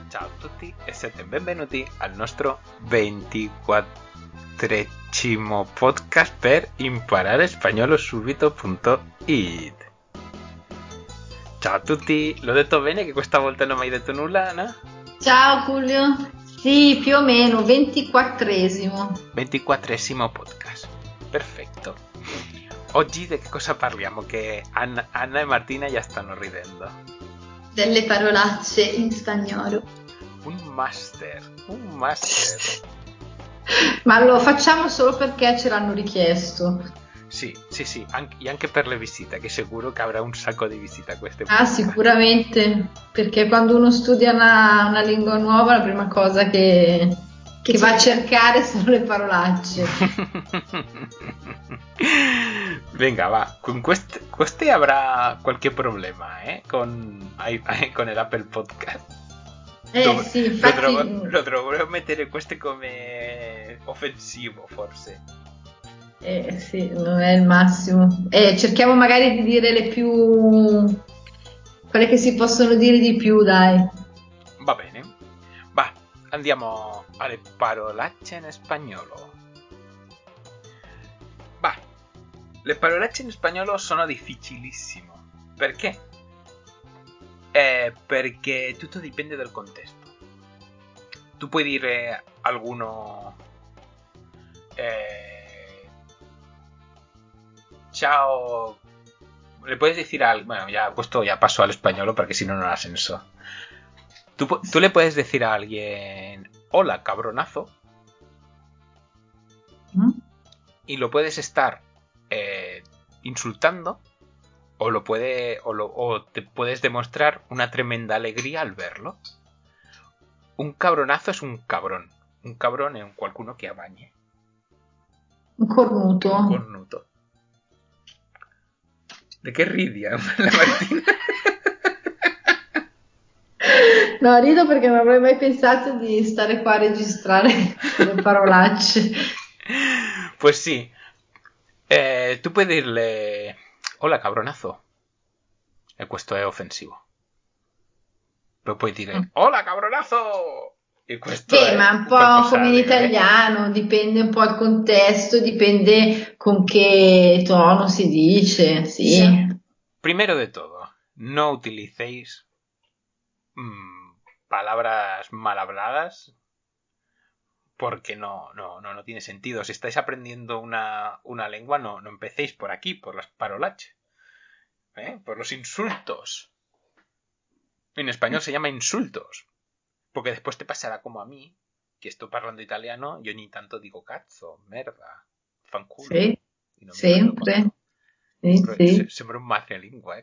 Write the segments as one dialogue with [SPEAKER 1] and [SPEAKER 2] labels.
[SPEAKER 1] Ciao a tutti e siete benvenuti al nostro 24esimo podcast per imparare spagnolo subito.it. Ciao a tutti, l'ho detto bene che questa volta non mi hai detto nulla, no?
[SPEAKER 2] Ciao Giulio, sì, più o meno, 24esimo.
[SPEAKER 1] 24esimo podcast, perfetto. Oggi di che cosa parliamo? Che Anna e Martina già stanno ridendo.
[SPEAKER 2] Delle parolacce in spagnolo.
[SPEAKER 1] Un master.
[SPEAKER 2] Ma lo facciamo solo perché ce l'hanno richiesto.
[SPEAKER 1] Sì, anche per le visite, che sicuro che avrà un sacco di visite a queste
[SPEAKER 2] Ah,
[SPEAKER 1] puntate.
[SPEAKER 2] sicuramente, perché quando uno studia una lingua nuova, la prima cosa che va a cercare sono le parolacce.
[SPEAKER 1] Venga, va, con queste avrà qualche problema, con el Apple Podcast.
[SPEAKER 2] Sì, infatti.
[SPEAKER 1] Lo dovrò mettere queste come offensivo, forse.
[SPEAKER 2] Sì, non è il massimo. Cerchiamo magari di dire quelle che si possono dire di più, dai.
[SPEAKER 1] Va bene. Va, andiamo alle parolacce in spagnolo. Va, le parolacce in spagnolo sono difficilissimo. Perché? Perché tutto dipende dal contesto. Tu puoi dire alguno... Ciao... Le puedes decir algo... Bueno, ya esto ya pasó al español porque si no, no ha senso. Tú le puedes decir a alguien... Hola, cabronazo. Y lo puedes estar insultando o te puedes demostrar una tremenda alegría al verlo. Un cabronazo es un cabrón. Un cabrón è un qualcuno che abbagne.
[SPEAKER 2] Un cornuto.
[SPEAKER 1] Un cornuto. ¿De qué ridi la Martina?
[SPEAKER 2] No, rido perché non avrei mai pensato di stare qua a registrare le parolacce.
[SPEAKER 1] Pues sí. Tú puedes dirle... Hola, cabronazo. Questo è offensivo. Però puoi dire... Hola, cabronazo! E questo è
[SPEAKER 2] ma un po' come in italiano, dipende un po' il contesto, dipende con che tono si dice, sì.
[SPEAKER 1] Primero de todo, no utilicéis palabras mal habladas porque no tiene sentido. Si estáis aprendiendo una lengua, no empecéis por aquí, por las parolaches, por los insultos. En español se llama insultos, porque después te pasará como a mí, que estoy parlando italiano, yo ni tanto digo cazzo, merda, fanculo.
[SPEAKER 2] Sì,
[SPEAKER 1] Y no me
[SPEAKER 2] sempre. Sì.
[SPEAKER 1] Sembra un madrelingua,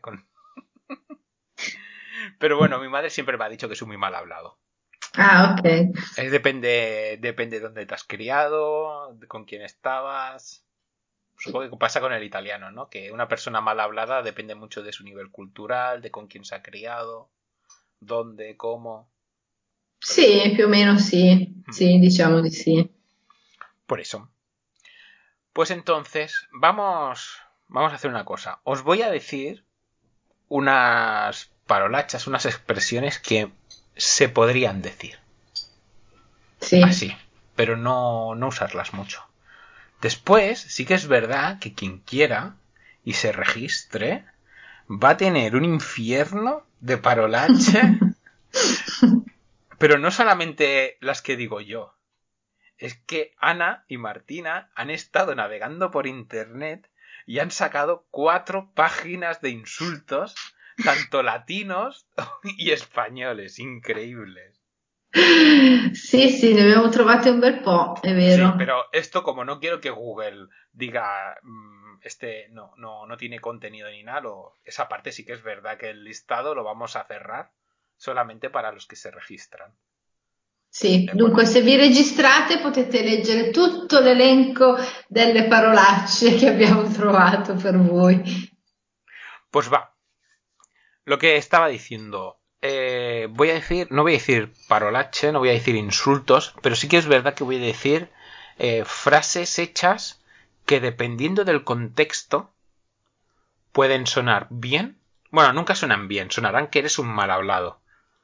[SPEAKER 1] Pero bueno, mi madre siempre me ha dicho que soy muy mal hablado.
[SPEAKER 2] Ah, ok.
[SPEAKER 1] Depende de dónde te has criado, con quién estabas. Supongo que pasa con el italiano, ¿no? Que una persona mal hablada depende mucho de su nivel cultural, de con quién se ha criado, dónde, cómo.
[SPEAKER 2] Sì, più o meno sì. Sì, diciamo di sì.
[SPEAKER 1] Por eso. Pues entonces, vamos a hacer una cosa. Os voy a decir unas parolachas, unas expresiones que se podrían decir.
[SPEAKER 2] Sì.
[SPEAKER 1] Así, pero no usarlas mucho. Después, sí que es verdad que quien quiera y se registre va a tener un infierno de parolache, pero no solamente las que digo yo. Es que Ana y Martina han estado navegando por internet y han sacado 4 páginas de insultos, tanto latinos y españoles, increíbles.
[SPEAKER 2] Sì, ne abbiamo trovate un bel po', è vero.
[SPEAKER 1] Sí, pero esto como no quiero que Google diga no tiene contenido ni nada, esa parte sí que es verdad que el listado lo vamos a cerrar solamente para los que se registran.
[SPEAKER 2] Sì, dunque se vi registrate potete leggere tutto l'elenco delle parolacce che abbiamo trovato per voi.
[SPEAKER 1] Pues va. Lo que estaba diciendo, voy a decir, no voy a decir parolache, no voy a decir insultos, pero sí que es verdad que voy a decir frases hechas que dependiendo del contexto pueden sonar bien. Bueno, nunca suenan bien, sonarán que eres un mal hablado.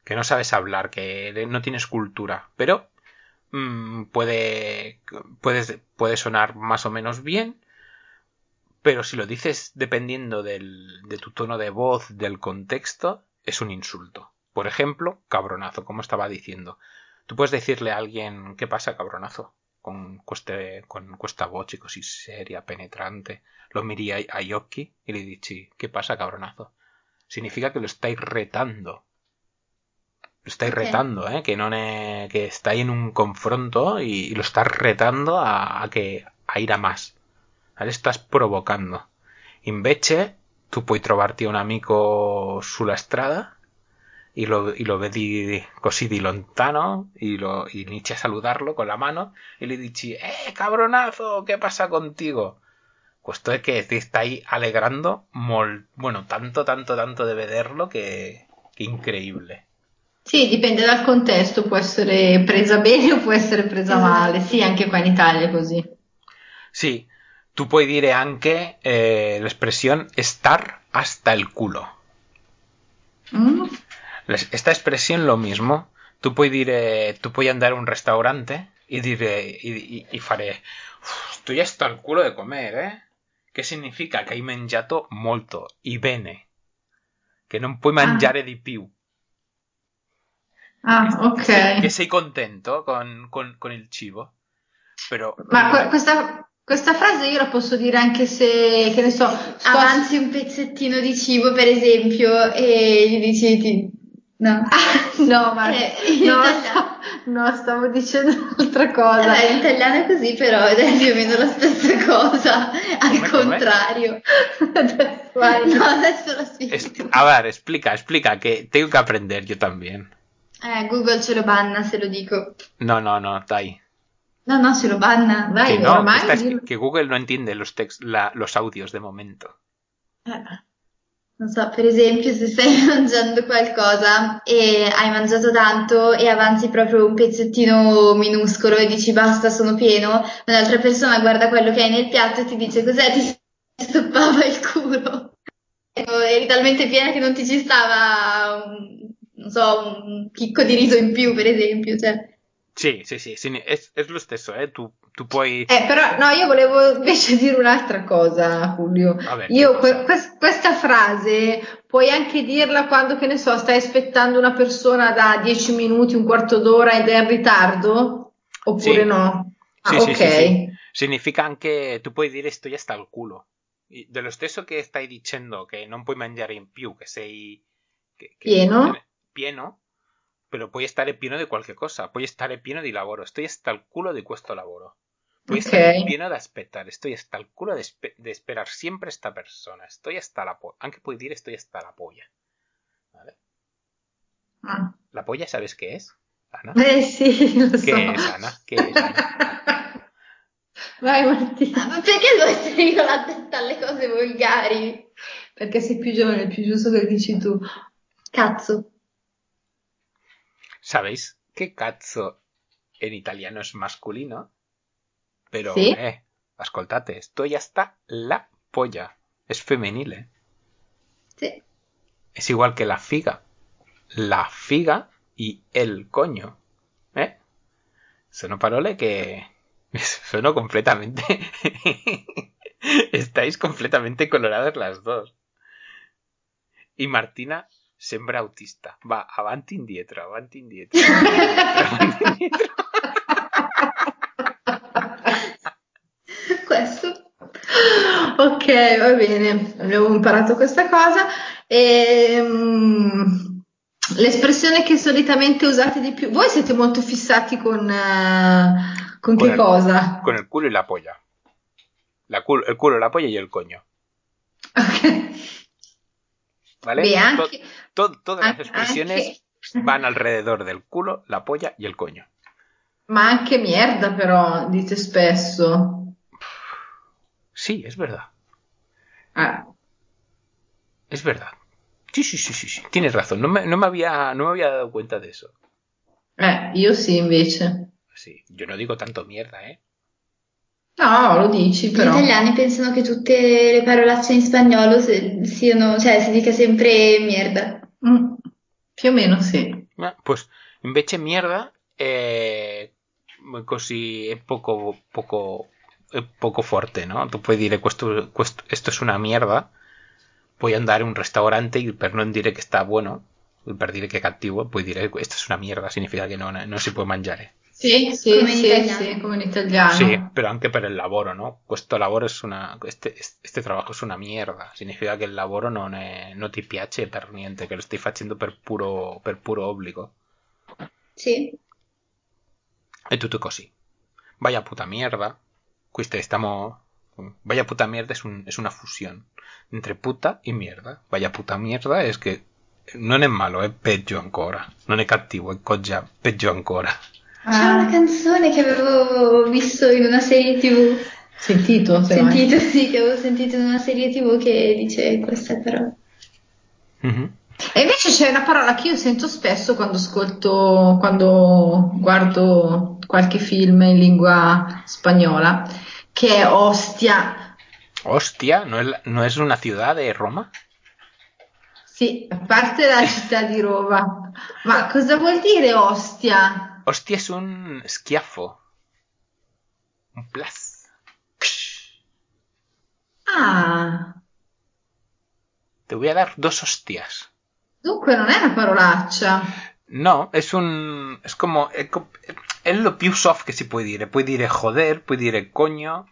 [SPEAKER 1] que no sabes hablar, que no tienes cultura, pero puede sonar más o menos bien, pero si lo dices dependiendo de tu tono de voz, del contexto, es un insulto. Por ejemplo, cabronazo, como estaba diciendo. Tú puedes decirle a alguien, ¿qué pasa, cabronazo? Con questa voce così seria, penetrante. Lo miri agli occhi y le dici, ¿qué pasa, cabronazo? Significa que lo estáis retando. Lo estáis retando, que non è, que estáis en un confronto y lo estás retando a ir a más. ¿Vale? Estás provocando. Invece, tu puoi trovarti un amico sulla strada y lo vedi così di lontano y inizi a saludarlo con la mano y le dici, cabronazo, ¿qué pasa contigo? Questo è che ti stai alegrando bueno, tanto de vederlo che incredibile.
[SPEAKER 2] Sì, dipende dal contesto, può essere presa bene o può essere presa male. Sì, anche qua in Italia è così.
[SPEAKER 1] Sì, tu puoi dire anche l'espressione estar hasta el culo. Esta expresión lo mismo. Tu puoi andare a un ristorante e dire e fare sto hasta el culo de comer, che significa che hai mangiato molto e bene, che non puoi mangiare di più.
[SPEAKER 2] Ok.
[SPEAKER 1] Che sei contento con il cibo. Però
[SPEAKER 2] Ma questa frase io la posso dire anche se, che ne so,
[SPEAKER 3] avanzi un pezzettino di cibo, per esempio, e gli dici no.
[SPEAKER 2] No, ma no, stavo dicendo un'altra cosa.
[SPEAKER 3] In italiano è così, però ed è più o meno la stessa cosa, al contrario. No, adesso lo spiego.
[SPEAKER 1] A ver, explica, que tengo que aprender yo también.
[SPEAKER 3] Google ce lo banna se lo dico.
[SPEAKER 1] No, dai.
[SPEAKER 3] No, se lo banna.
[SPEAKER 1] Vai, que no, que Google no entiende los audios de momento.
[SPEAKER 3] Non so, per esempio, se stai mangiando qualcosa e hai mangiato tanto e avanzi proprio un pezzettino minuscolo e dici basta, sono pieno, un'altra persona guarda quello che hai nel piatto e ti dice cos'è, ti stoppava il culo. Eri talmente piena che non ti ci stava, non so, un chicco di riso in più, per esempio, cioè.
[SPEAKER 1] Sì, è lo stesso, tu puoi...
[SPEAKER 2] Però no, io volevo invece dire un'altra cosa, Julio.
[SPEAKER 1] Vabbè,
[SPEAKER 2] io questa frase puoi anche dirla quando, che ne so, stai aspettando una persona da 10 minuti, un quarto d'ora ed è in ritardo? Oppure no?
[SPEAKER 1] Sì,
[SPEAKER 2] ok.
[SPEAKER 1] Sì. Significa anche, tu puoi dire estoy hasta el culo. Dello stesso che stai dicendo che non puoi mangiare in più, che sei... Pieno, pero puoi stare pieno di qualche cosa, puoi stare pieno di lavoro, estoy hasta el culo di questo lavoro. Puoi stare pieno de aspettare, estoy hasta el culo de esperar siempre esta persona, estoy hasta la polla. Anche puoi dire estoy hasta la polla. ¿Vale? ¿La polla sabes qué es, Ana?
[SPEAKER 2] Sì, lo so.
[SPEAKER 1] ¿Qué es, Ana?
[SPEAKER 2] Vai Martina.
[SPEAKER 3] Ma perché devo essere io la testa alle cose volgari?
[SPEAKER 2] Perché sei più giovane, è più giusto che dici tu.
[SPEAKER 3] Cazzo.
[SPEAKER 1] ¿Sabéis que cazzo en italiano es masculino? Pero,
[SPEAKER 2] ¿sí?
[SPEAKER 1] Ascoltate, estoy hasta la polla. Es femenil,
[SPEAKER 3] Sí.
[SPEAKER 1] Es igual que la figa. La figa y el coño. Sono parole que... Sono completamente... Estáis completamente coloradas las dos. Y Martina sembra autista. Va avanti indietro, avanti indietro. Avanti indietro.
[SPEAKER 3] Questo.
[SPEAKER 2] Ok, va bene, abbiamo imparato questa cosa. L'espressione che solitamente usate di più, voi siete molto fissati con che cosa?
[SPEAKER 1] Con el culo y la polla. El culo, la polla y el coño.
[SPEAKER 2] Ok.
[SPEAKER 1] ¿Vale?
[SPEAKER 2] Beh, anche,
[SPEAKER 1] todas las expresiones van alrededor del culo, la polla y el coño.
[SPEAKER 2] Ma anche mierda, però, dite spesso.
[SPEAKER 1] Sí, es verdad. Es verdad. Sí. Tienes razón. No me había dado cuenta de eso.
[SPEAKER 2] Io sì, invece.
[SPEAKER 1] Sí, yo no digo tanto mierda,
[SPEAKER 2] No, lo dici, però.
[SPEAKER 3] Gli italiani pensano che tutte le parolacce in spagnolo siano, cioè si dica sempre merda.
[SPEAKER 2] Più o meno sì.
[SPEAKER 1] Pues invece mierda così è poco forte, no? Tu puoi dire questo è una mierda, puoi andare a un ristorante e per non dire che sta buono, per dire che è cattivo, puoi dire questa è una mierda, significa che non si può mangiare.
[SPEAKER 2] Sì, come in italiano.
[SPEAKER 1] Sì, però anche per il lavoro, no? Questo lavoro este trabajo es una mierda. Significa che il lavoro non ti piace per niente, che lo stai facendo per puro obbligo.
[SPEAKER 3] Sì.
[SPEAKER 1] È tutto così. Vaya puta mierda. Vaya puta mierda es una fusión entre puta y mierda. Vaya puta mierda es que non è malo, è peggio ancora. Non è cattivo, è peggio ancora.
[SPEAKER 3] C'è una canzone che avevo visto in una serie TV.
[SPEAKER 2] Sentito,
[SPEAKER 3] Sì, che avevo sentito in una serie TV che dice queste parole.
[SPEAKER 1] Mm-hmm.
[SPEAKER 2] E invece c'è una parola che io sento spesso quando guardo qualche film in lingua spagnola, che è ostia.
[SPEAKER 1] Hostia, ¿no es una ciudad de Roma?
[SPEAKER 2] Sì, a parte la città di Roma. Ma cosa vuol dire ostia?
[SPEAKER 1] Hostia es un schiaffo. Un plas.
[SPEAKER 2] Ah,
[SPEAKER 1] Te voy a dar 2 hostias.
[SPEAKER 2] dunque non è una parolaccia.
[SPEAKER 1] No, es como è lo più soft che si può dire. Puoi dire joder, puoi dire coño.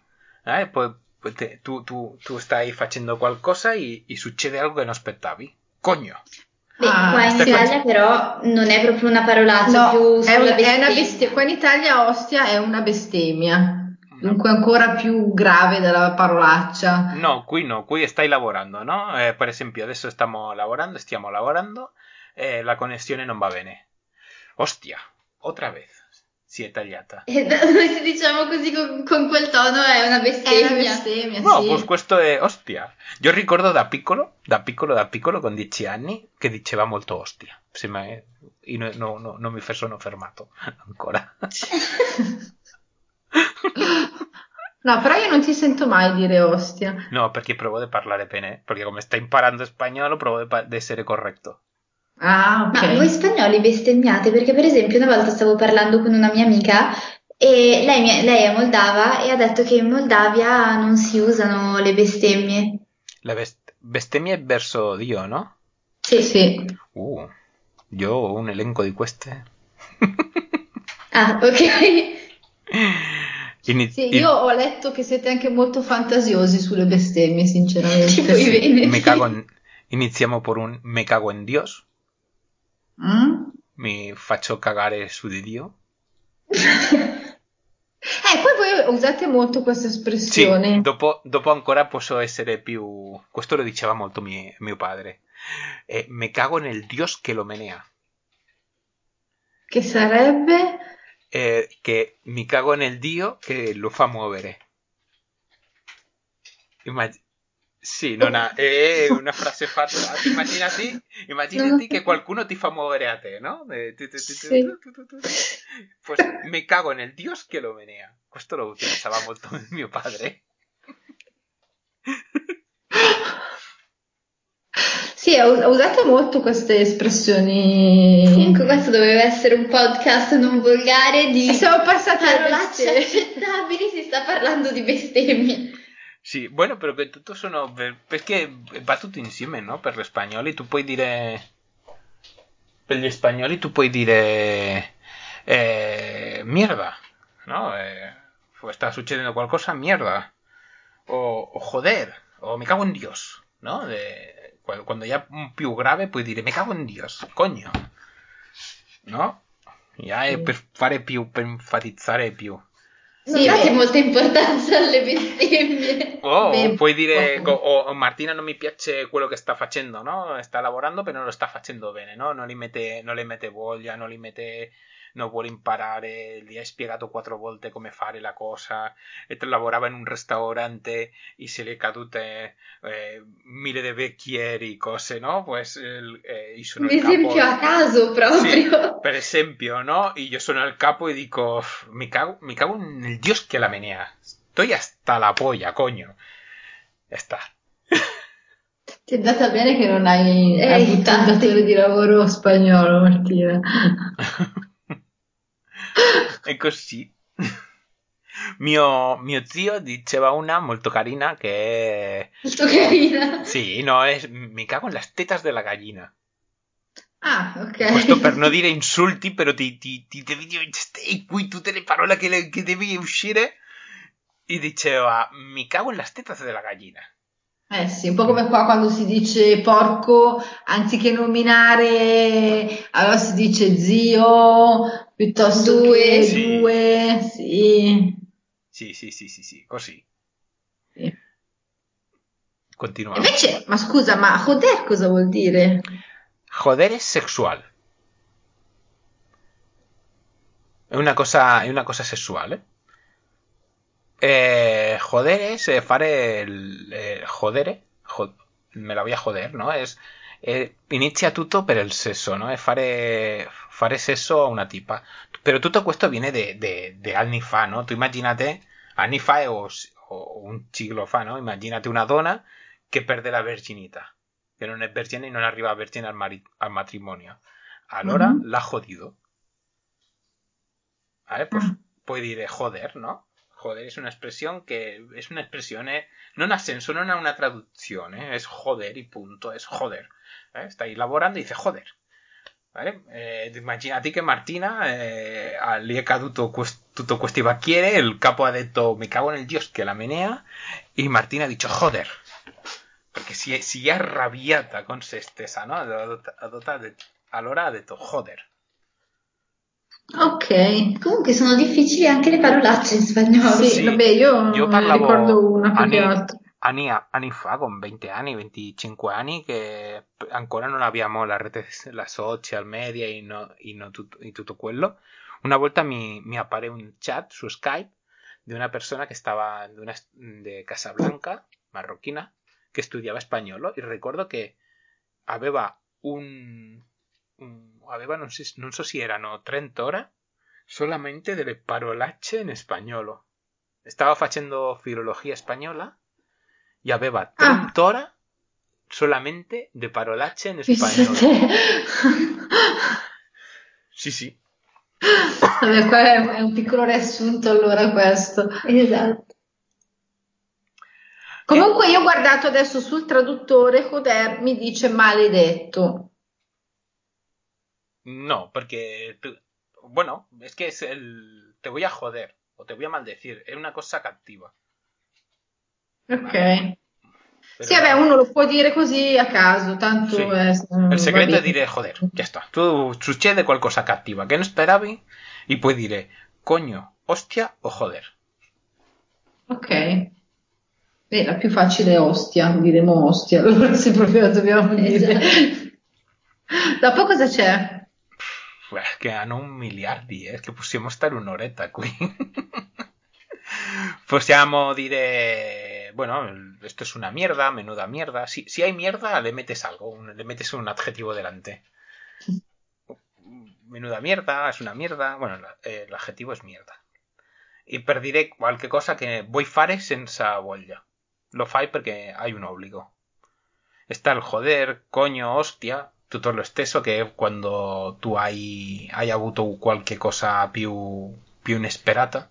[SPEAKER 1] Tu stai facendo qualcosa e succede algo che non aspettavi. Coño.
[SPEAKER 3] Beh, qua in Italia però non è proprio una parolaccia, più sulla bestemmia.
[SPEAKER 2] Qua in Italia ostia è una bestemmia. Dunque ancora più grave della parolaccia.
[SPEAKER 1] No, qui stai lavorando, no? Per esempio, adesso stiamo lavorando e la connessione non va bene. Ostia, otra vez. Si è tagliata.
[SPEAKER 3] Noi se diciamo così con quel tono è una bestemmia.
[SPEAKER 2] È una bestemmia,
[SPEAKER 1] No,
[SPEAKER 2] sì.
[SPEAKER 1] pues questo è ostia. Io ricordo da piccolo, con 10 anni, che diceva molto ostia. Io non mi sono fermato ancora.
[SPEAKER 2] No, però io non ti sento mai dire ostia.
[SPEAKER 1] No, perché provo a parlare bene. Perché come stai imparando spagnolo, provo ad essere corretto.
[SPEAKER 2] Ah, ok.
[SPEAKER 3] Ma voi spagnoli bestemmiate? Perché per esempio una volta stavo parlando con una mia amica e lei è moldava e ha detto che in Moldavia non si usano le bestemmie.
[SPEAKER 1] La bestemmia è verso Dio, no?
[SPEAKER 2] Sì.
[SPEAKER 1] Io ho un elenco di queste.
[SPEAKER 3] Ah, ok.
[SPEAKER 2] Sì, io ho letto che siete anche molto fantasiosi sulle bestemmie, sinceramente.
[SPEAKER 3] Tipo i veneti.
[SPEAKER 1] Iniziamo por un me cago en Dios. Mi faccio cagare su di Dio.
[SPEAKER 2] Poi voi usate molto questa espressione.
[SPEAKER 1] Sì, dopo ancora posso essere più. Questo lo diceva molto mio padre. Me cago nel Dios che lo menea.
[SPEAKER 2] Che sarebbe?
[SPEAKER 1] Che mi cago nel Dio che lo fa muovere. Sì, è una frase fatta. Immaginati che qualcuno ti fa muovere a te, no?
[SPEAKER 2] Sì.
[SPEAKER 1] Pues me cago nel Dios che lo menea. Questo lo utilizzava molto mio padre.
[SPEAKER 2] Sì, usate molto queste espressioni.
[SPEAKER 3] Comunque questo doveva essere un podcast non volgare di
[SPEAKER 2] siamo passati a
[SPEAKER 3] parolacce accettabili, si sta parlando di bestemmie.
[SPEAKER 1] Sì, bueno, però che tutto sono perché va tutto insieme, no? Per gli spagnoli tu puoi dire mierda, no? Sta succedendo qualcosa, mierda. O joder, o me cago en Dios, no? Quando è più grave puoi dire me cago in Dios, coño. No? Ja è per fare più, per enfatizzare più.
[SPEAKER 3] Non date molta importanza alle bestemmie.
[SPEAKER 1] O puoi dire Martina non mi piace quello che sta facendo, no? Sta lavorando però non lo sta facendo bene, no? Non le mette voglia, non vuole imparare, gli hai spiegato 4 volte come fare la cosa e lavorava in un ristorante e se le cadute 1000 di bicchieri, cose, no? Pues io sono
[SPEAKER 3] un esempio a caso proprio.
[SPEAKER 1] Sì, per esempio, no? Io sono al capo e dico mi cago nel Dios che la menea. Estoy hasta la polla, coño. Ya está.
[SPEAKER 2] Ti è andata bene che non hai avuto un
[SPEAKER 3] infatti.
[SPEAKER 2] datore di lavoro spagnolo, Martina.
[SPEAKER 1] E così. Mio zio diceva una molto carina che è...
[SPEAKER 3] Molto carina.
[SPEAKER 1] Sì, no, es mi cago en las tetas della gallina.
[SPEAKER 2] Ah,
[SPEAKER 1] Questo per non
[SPEAKER 2] ok.
[SPEAKER 1] dire insulti, però ti devi dire stai qui tutte le parole che devi uscire. E diceva, mi cago en las tetas della gallina.
[SPEAKER 2] Eh sì, un po' come qua quando si dice porco, anziché nominare, allora si dice zio, piuttosto
[SPEAKER 3] Due.
[SPEAKER 2] che
[SPEAKER 1] Sì,
[SPEAKER 2] due, sì.
[SPEAKER 1] sì, così.
[SPEAKER 2] Sì.
[SPEAKER 1] Continuiamo.
[SPEAKER 2] Invece, ma scusa, ma joder cosa vuol dire?
[SPEAKER 1] Joder es sexual. È una cosa sessuale. Joder es fare jodere. Me la voy a joder, no? Inizia tutto per il sesso, no? È fare sesso a una tipa. Però tutto questo viene de anni fa, no? Tu immaginate, anni fa o un siglo fa, no? Immaginate una donna che perde la verginità, che non è vergine e non arriva vergine al matrimonio. Allora
[SPEAKER 2] Mhm.
[SPEAKER 1] l'ha jodido. ¿Vale? Pues
[SPEAKER 2] Ah,
[SPEAKER 1] puoi dire joder, ¿no? Joder es una expresión, non ha senso, non ha una traduzione, es joder y punto, es joder. Stai lavorando e dice joder. ¿Vale? Immaginati che Martina lì è caduto tutto questi bacchiere, il capo ha detto me cago nel dios che la menea e Martina ha dicho joder. Perché si è arrabbiata con se stessa, no? Allora ha detto joder.
[SPEAKER 2] ok.
[SPEAKER 3] Comunque sono difficili anche le parolacce in spagnolo.
[SPEAKER 2] Sì, vabbè,
[SPEAKER 1] Sì,
[SPEAKER 2] io
[SPEAKER 1] io
[SPEAKER 2] ne ricordo
[SPEAKER 1] parlavo
[SPEAKER 2] una più che altro.
[SPEAKER 1] anni fa, con 20 anni, 25 anni, che ancora non abbiamo la rete, la social media y tutto quello. Una volta mi appare un chat su Skype di una persona che stava de Casablanca, marroquina, che studiava spagnolo e ricordo che aveva aveva non so si erano 30 ore solamente delle parolacce in spagnolo. Stava facendo filologia spagnola e aveva
[SPEAKER 2] Ah,
[SPEAKER 1] 30 ore solamente de parolacce in
[SPEAKER 2] pensa a te.
[SPEAKER 1] spagnolo. Sì, sì.
[SPEAKER 2] Vabbè, qua è un piccolo riassunto allora questo.
[SPEAKER 3] Esatto.
[SPEAKER 1] E
[SPEAKER 2] Comunque io ho guardato adesso sul traduttore, joder mi dice maledetto.
[SPEAKER 1] no, porque, bueno, es que es te voy a joder o te voy a maldecir. Es una cosa captiva, ¿vale?
[SPEAKER 2] Ok. Sì,
[SPEAKER 1] Pero
[SPEAKER 2] vabbè,
[SPEAKER 1] no.
[SPEAKER 2] uno lo può dire così a caso, tanto
[SPEAKER 1] Sí. El
[SPEAKER 2] va
[SPEAKER 1] secreto es
[SPEAKER 2] bene.
[SPEAKER 1] dire joder, ya está. Tú succede qualcosa cattiva que no esperavi y puoi dire coño, hostia o joder.
[SPEAKER 2] Ok. Beh, la più facile è ostia, diremo ostia, allora se proprio la dobbiamo dire.
[SPEAKER 3] Esatto.
[SPEAKER 2] Dopo cosa c'è?
[SPEAKER 1] Che hanno un miliardi, che possiamo stare un'oretta qui. Possiamo dire, bueno, esto es una mierda, menuda mierda. Si hay mierda, le metes algo, le metes un adjetivo delante. Menuda mierda, es una mierda. Bueno, el adjetivo es mierda. I per dire qualche cosa che vuoi fare senza voglia. Lo fai perché hai un obbligo. Está el joder, coño, hostia, tutto lo stesso che quando tu hai avuto qualche cosa più inesperata.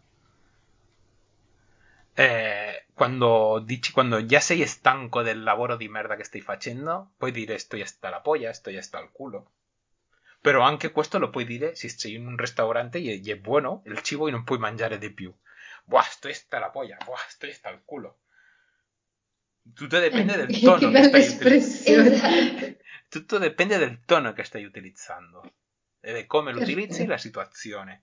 [SPEAKER 1] Quando già sei stanco del lavoro di merda che stai facendo, puoi dire sto hasta la polla, sto hasta el culo. Però anche questo lo puoi dire se sei in un ristorante e è buono il cibo e non puoi mangiare di più. Buah, sto hasta la polla, buah, sto hasta el culo. Tutto dipende del
[SPEAKER 2] Che
[SPEAKER 1] tono che
[SPEAKER 2] bella
[SPEAKER 1] stai utilizzando.
[SPEAKER 3] Esatto.
[SPEAKER 1] Tutto dipende del tono che stai utilizzando e di come lo utilizzi la
[SPEAKER 2] Perfetto.
[SPEAKER 1] situazione.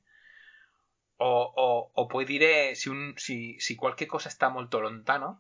[SPEAKER 1] O puoi dire si qualche cosa sta molto lontano,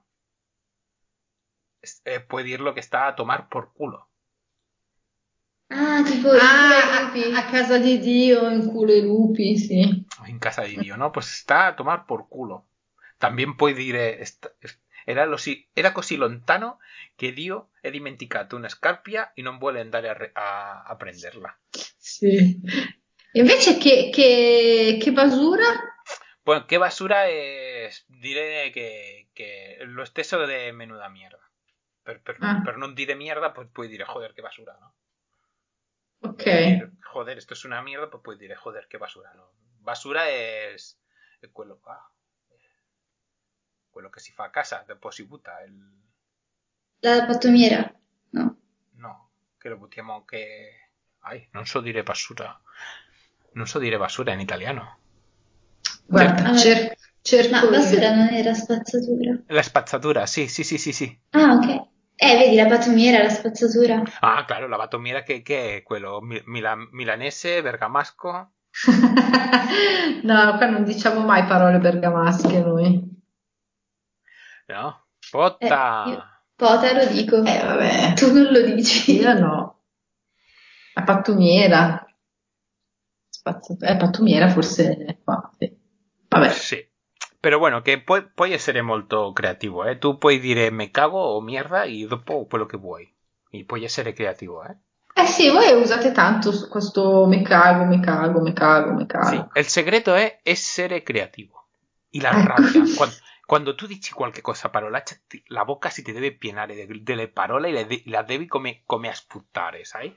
[SPEAKER 1] puoi dirlo che sta a tomar por culo.
[SPEAKER 3] Ah, tipo il culo ai
[SPEAKER 2] Ah, a
[SPEAKER 3] lupi.
[SPEAKER 2] casa di Dio, in culo i lupi, sì.
[SPEAKER 1] In casa di Dio, ¿no? Pues está a tomar por culo. También puoi dire era così lontano che Dio è dimenticato una scarpia e non vuole andare a prenderla.
[SPEAKER 2] Sì. Invece che basura?
[SPEAKER 1] Bueno, qué basura es. Diré que lo stesso de menuda mierda. per non dire mierda, pues puoi dire joder, che basura, no?
[SPEAKER 2] Ok.
[SPEAKER 1] Dire, joder, esto es una mierda, pues puoi dire joder, che basura, no? Basura es quello che si fa a casa, poi si butta,
[SPEAKER 3] La pattumiera? No.
[SPEAKER 1] no, che lo buttiamo che... non so dire basura. Non so dire basura in italiano.
[SPEAKER 2] Guarda,
[SPEAKER 3] Ah,
[SPEAKER 2] cerco
[SPEAKER 3] ma
[SPEAKER 2] io.
[SPEAKER 3] basura non era spazzatura.
[SPEAKER 1] La spazzatura, sì.
[SPEAKER 3] Ah, ok. Vedi, la pattumiera, la spazzatura.
[SPEAKER 1] Ah, claro, la batomiera che è quello milanese, bergamasco.
[SPEAKER 2] No, qua non diciamo mai parole bergamasche noi.
[SPEAKER 1] No?
[SPEAKER 3] Io
[SPEAKER 1] Potta!
[SPEAKER 3] pota lo dico.
[SPEAKER 2] Vabbè.
[SPEAKER 3] Tu non lo dici.
[SPEAKER 2] Io no. La pattumiera. Pattumiera forse è qua, sì. Vabbè.
[SPEAKER 1] Sì. Però bueno, che puoi essere molto creativo, eh? Tu puoi dire me cago o mierda e dopo quello che vuoi. E puoi essere creativo, eh?
[SPEAKER 2] Sì, voi usate tanto questo me cago, me cago, me cago, me
[SPEAKER 1] Sì,
[SPEAKER 2] cago.
[SPEAKER 1] il segreto è essere creativo. E la
[SPEAKER 2] Ecco.
[SPEAKER 1] rabbia. Quando tu dici qualche cosa parolaccia, la bocca si ti deve pienare delle parole e la devi come a sputare, sai?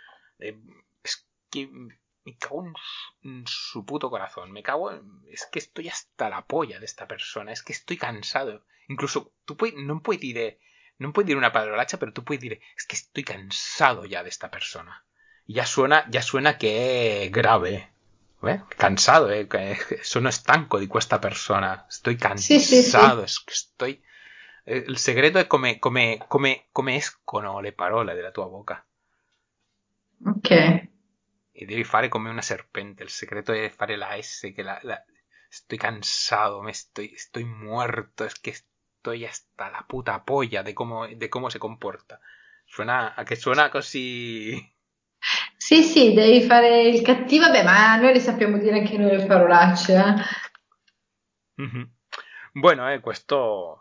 [SPEAKER 1] Es que me cago en su puto corazón. Es que estoy hasta la polla de esta persona. Es que estoy cansado. Incluso non puoi dire una parolaccia, però tu puoi dire es que estoy cansado ya de esta persona. Y ya suena che è grave. Cansado, sono stanco di questa persona. Estoy
[SPEAKER 2] Sì, sì, sì.
[SPEAKER 1] cansado. Es que estoy... Il segreto è come escono le parole della tua bocca.
[SPEAKER 2] Ok.
[SPEAKER 1] E devi fare come una serpente. Il segreto è fare la S, che estoy cansado, estoy muerto, es que estoy hasta la puta polla de cómo se comporta. Suena così...
[SPEAKER 2] Sì, sì, devi fare il cattivo, vabbè, ma noi le sappiamo dire anche noi le parolacce, eh.
[SPEAKER 1] Mhm. Bueno, questo...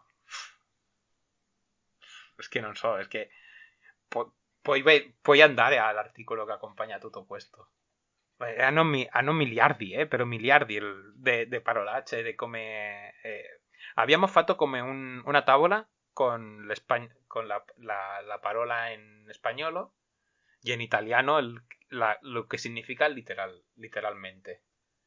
[SPEAKER 1] Es que non so, es que... Puoi andare all'articolo che accompagna tutto questo. Hanno miliardi, però miliardi de parolacce, de come... abbiamo fatto come una tavola con la parola in spagnolo y en italiano lo que significa literalmente.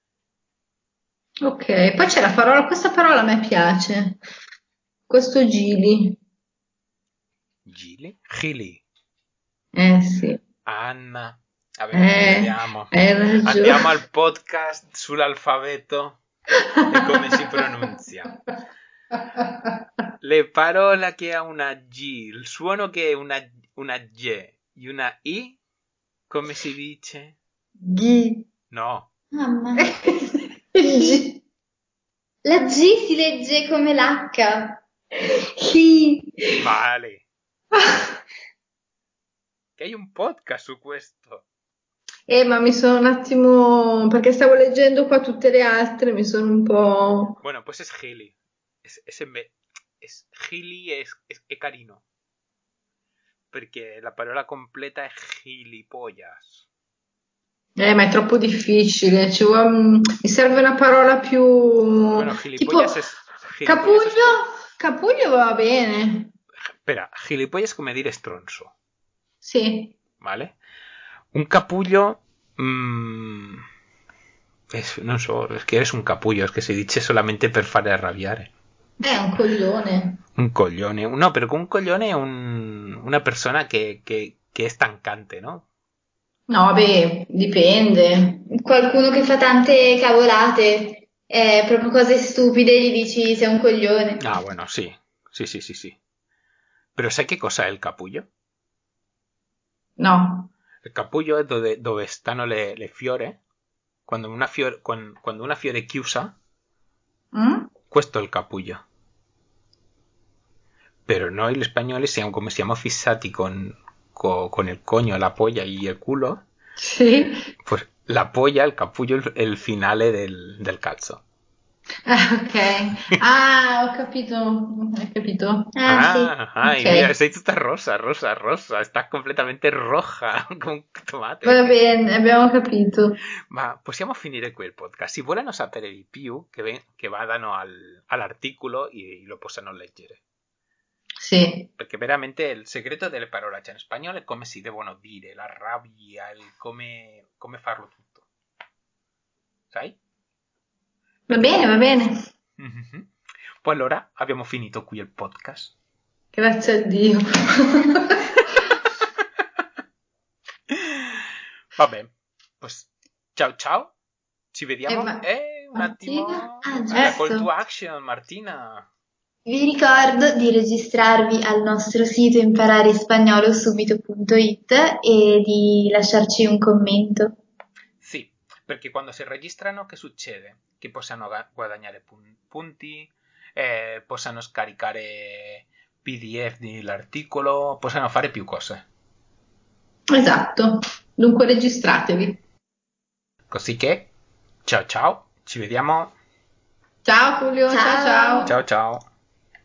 [SPEAKER 2] Ok, poi c'è la parola, questa parola a me piace. Questo gili.
[SPEAKER 1] Gili? Gili.
[SPEAKER 2] Sì.
[SPEAKER 1] Anna. Vabbè, vediamo.
[SPEAKER 2] Hai ragione.
[SPEAKER 1] Andiamo al podcast sull'alfabeto e come si pronuncia. Le parole che ha una G, il suono che è una G e una I, come si dice?
[SPEAKER 2] Ghi.
[SPEAKER 1] No.
[SPEAKER 3] Mamma.
[SPEAKER 2] G.
[SPEAKER 3] La G si legge come l'H.
[SPEAKER 2] Chi.
[SPEAKER 1] Vale. Che hai un podcast su questo.
[SPEAKER 2] Ma mi sono un attimo, perché stavo leggendo qua tutte le altre, mi sono un po'...
[SPEAKER 1] Bueno, pues es Gili. Es Gili è carino. Perché la parola completa è gilipollas.
[SPEAKER 2] Ma è troppo difficile, mi serve una parola più...
[SPEAKER 1] Bueno,
[SPEAKER 2] tipo
[SPEAKER 1] gilipollas es
[SPEAKER 2] capuglio, capuglio va bene,
[SPEAKER 1] Espera, gilipollas come dire stronzo.
[SPEAKER 2] sì.
[SPEAKER 1] ¿Vale? Un capullo... non so, es que eres un capullo, es que si dice solamente per fare arrabbiare.
[SPEAKER 2] È un coglione.
[SPEAKER 1] Un coglione. No, pero un coglione è una persona che è stancante, no?
[SPEAKER 2] No, beh, dipende.
[SPEAKER 3] Qualcuno che fa tante cavolate, proprio cose stupide, gli dici sei un coglione.
[SPEAKER 1] Ah, bueno, sí. Sí. Pero ¿sai che cosa è il capullo?
[SPEAKER 2] No.
[SPEAKER 1] Il capullo è dove stanno le fiore. Quando una fiore chiusa,
[SPEAKER 2] Mm?
[SPEAKER 1] questo è il capullo. Pero noi gli spagnoli siamo fissati con el coño, la polla y el culo,
[SPEAKER 2] Sì.
[SPEAKER 1] pues la polla, el capullo, el finale del calzo.
[SPEAKER 2] Ok. Ah, ho capito, hai capito.
[SPEAKER 3] Sì.
[SPEAKER 1] Y
[SPEAKER 2] Ok.
[SPEAKER 1] mira, sei tutta rosa. Estás completamente roja, come un tomate.
[SPEAKER 2] Va bene, abbiamo capito.
[SPEAKER 1] Ma possiamo finire qui il podcast. Si vogliono sapere di più, che vadano all'articolo e lo possano leggere.
[SPEAKER 2] Sì.
[SPEAKER 1] Perché veramente il segreto delle parolacce in spagnolo è come si devono dire, la rabbia, come farlo tutto. Sai?
[SPEAKER 2] Va bene, va bene.
[SPEAKER 1] Mhm. Poi allora abbiamo finito qui il podcast.
[SPEAKER 2] Grazie a Dio.
[SPEAKER 1] Vabbè, pues, ciao ciao, ci vediamo.
[SPEAKER 2] Ma
[SPEAKER 1] Un attimo,
[SPEAKER 3] Martina? Ah,
[SPEAKER 1] la call to
[SPEAKER 3] giusto.
[SPEAKER 1] action, Martina.
[SPEAKER 3] Vi ricordo di registrarvi al nostro sito impararespagnolo.subito.it e di lasciarci un commento.
[SPEAKER 1] Sì, perché quando si registrano che succede? Che possano guadagnare punti, possano scaricare PDF dell'articolo, possano fare più cose.
[SPEAKER 2] esatto. Dunque registratevi.
[SPEAKER 1] Così che, ciao ciao, ci vediamo.
[SPEAKER 2] Ciao Julio, ciao
[SPEAKER 3] Ciao!
[SPEAKER 2] ciao.
[SPEAKER 1] Ciao ciao.